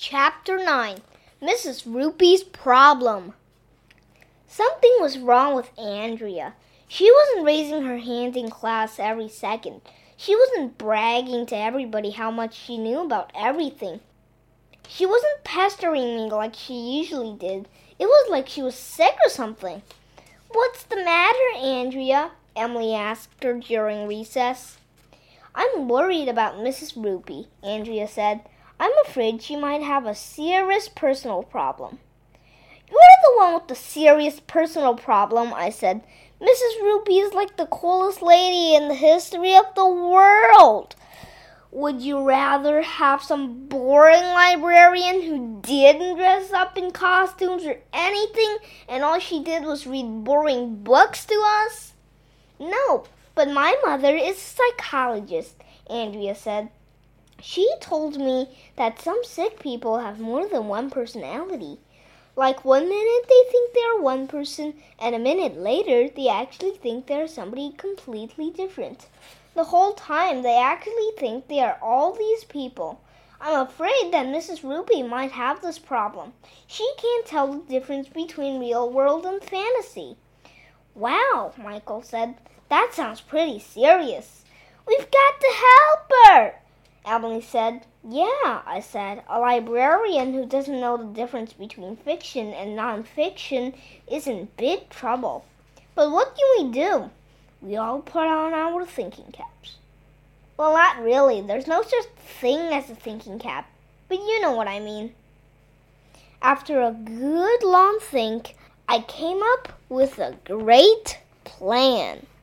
Chapter 9 Mrs. Rupee's Problem. Something was wrong with Andrea. She wasn't raising her hand in class every second. She wasn't bragging to everybody how much she knew about everything. She wasn't pestering me like she usually did. It was like she was sick or something. "What's the matter, Andrea?" Emily asked her during recess. "I'm worried about Mrs. Rupee," Andrea said. "I'm afraid she might have a serious personal problem." "You're the one with the serious personal problem," I said. "Mrs. Rupee is like the coolest lady in the history of the world. Would you rather have some boring librarian who didn't dress up in costumes or anything, and all she did was read boring books to us?" "No, but my mother is a psychologist," Andrea said. "She told me that some sick people have more than one personality. Like 1 minute they think they're one person, and a minute later they actually think they're somebody completely different. The whole time they actually think they are all these people. I'm afraid that Mrs. Rupee might have this problem. She can't tell the difference between real world and fantasy." "Wow," Michael said. "That sounds pretty serious." "We've got to help her," Emily said. "Yeah," I said. "A librarian who doesn't know the difference between fiction and non-fiction is in big trouble." "But what can we do?" We all put on our thinking caps. Well, not really. There's no such thing as a thinking cap, but you know what I mean. After a good long think, I came up with a great plan.